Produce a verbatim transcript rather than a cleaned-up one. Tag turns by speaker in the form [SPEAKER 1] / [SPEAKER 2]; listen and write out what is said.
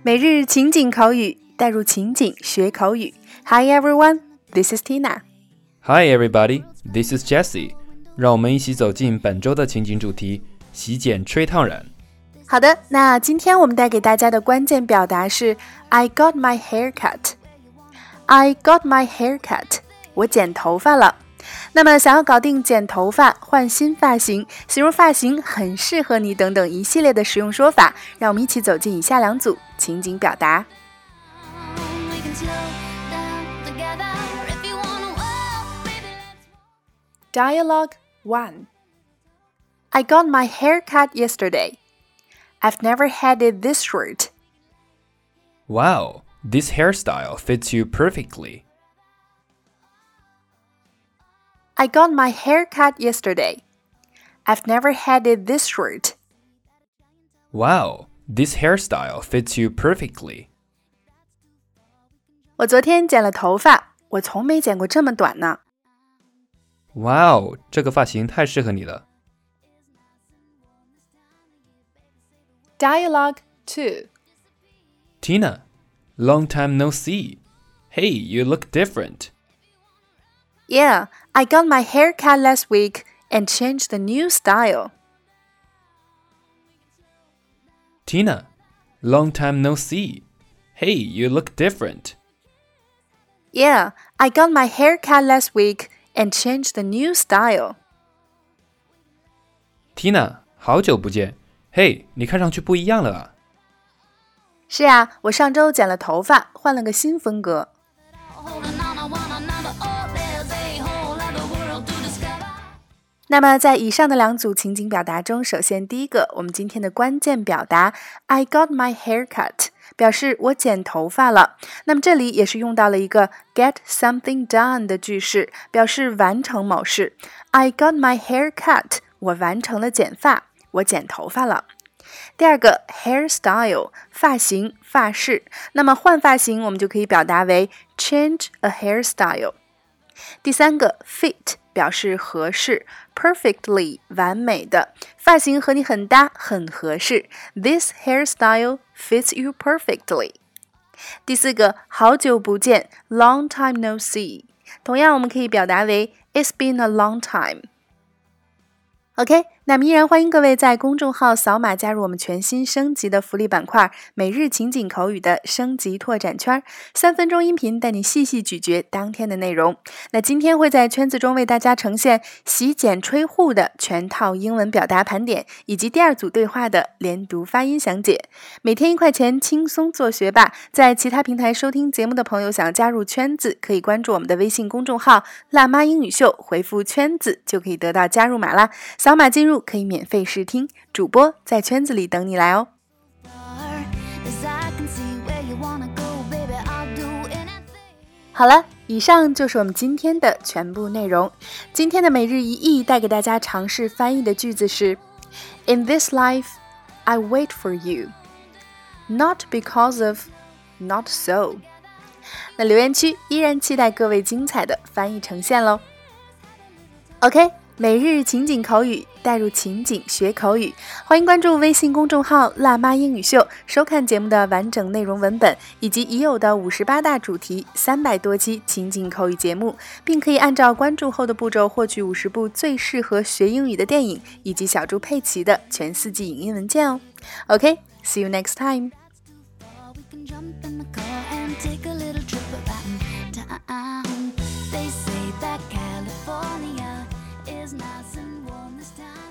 [SPEAKER 1] 每日情景口语，带入情景学口语。Hi everyone, this is Tina.
[SPEAKER 2] Hi everybody, this is Jessie. 让我们一起走进本周的情景主题——洗剪吹烫染。
[SPEAKER 1] 好的，那今天我们带给大家的关键表达是 I got my hair cut. I got my hair cut. 我剪头发了。那么想要搞定剪头发、换新发型、形容发型很适合你等等一系列的实用说法，让我们一起走进以下两组情景表达。Dialogue one. I got my hair cut yesterday. I've never had it this short.
[SPEAKER 2] Wow, this hairstyle fits you perfectly.
[SPEAKER 1] I got my hair cut yesterday. I've never had it this short.
[SPEAKER 2] Wow, this hairstyle fits you perfectly.
[SPEAKER 1] 我昨天剪了头发，我从没剪过这么短呢。
[SPEAKER 2] Wow, 这个发型太适合你了。
[SPEAKER 1] Dialogue two.
[SPEAKER 2] Tina, long time no see. Hey, you look different.
[SPEAKER 1] Yeah, I got my hair cut last week and changed the new style.
[SPEAKER 2] Tina, long time no see. Hey, you look different.
[SPEAKER 1] Yeah, I got my hair cut last week and changed the new style.
[SPEAKER 2] Tina, 好久不见。嘿，你看上去不一样了啊。
[SPEAKER 1] 是啊，我上周剪了头发，换了个新风格。那么在以上的两组情景表达中，首先第一个，我们今天的关键表达 I got my hair cut 表示我剪头发了。那么这里也是用到了一个 get something done 的句式，表示完成某事。I got my hair cut 我完成了剪发，我剪头发了。第二个 hairstyle 发型发饰，那么换发型我们就可以表达为 change a hairstyle。第三个 fit 表示合适 perfectly 完美的，发型和你很搭很合适 This hairstyle fits you perfectly。 第四个好久不见 long time no see， 同样我们可以表达为 It's been a long time。OK， 那么依然欢迎各位在公众号扫码加入我们全新升级的福利板块每日情景口语的升级拓展圈，三分钟音频带你细细咀嚼当天的内容。那今天会在圈子中为大家呈现洗剪吹护的全套英文表达盘点，以及第二组对话的连读发音详解。每天一块钱，轻松做学霸。在其他平台收听节目的朋友想要加入圈子，可以关注我们的微信公众号辣妈英语秀，回复圈子就可以得到加入码啦。扫码进入可以免费试听，主播在圈子里等你来哦。好了，以上就是我们今天的全部内容。今天的每日一译带给大家尝试翻译的句子是 In this life, I wait for you. Not because of, not so. 那留言区依然期待各位精彩的翻译呈现咯。OK，每日情景口语，带入情景学口语，欢迎关注微信公众号辣妈英语秀，收看节目的完整内容文本，以及已有的五十八大主题三百多期情景口语节目，并可以按照关注后的步骤获取五十部最适合学英语的电影，以及小猪佩奇的全四季影音文件哦。OK, see you next time. They say that California is nice and warm this time.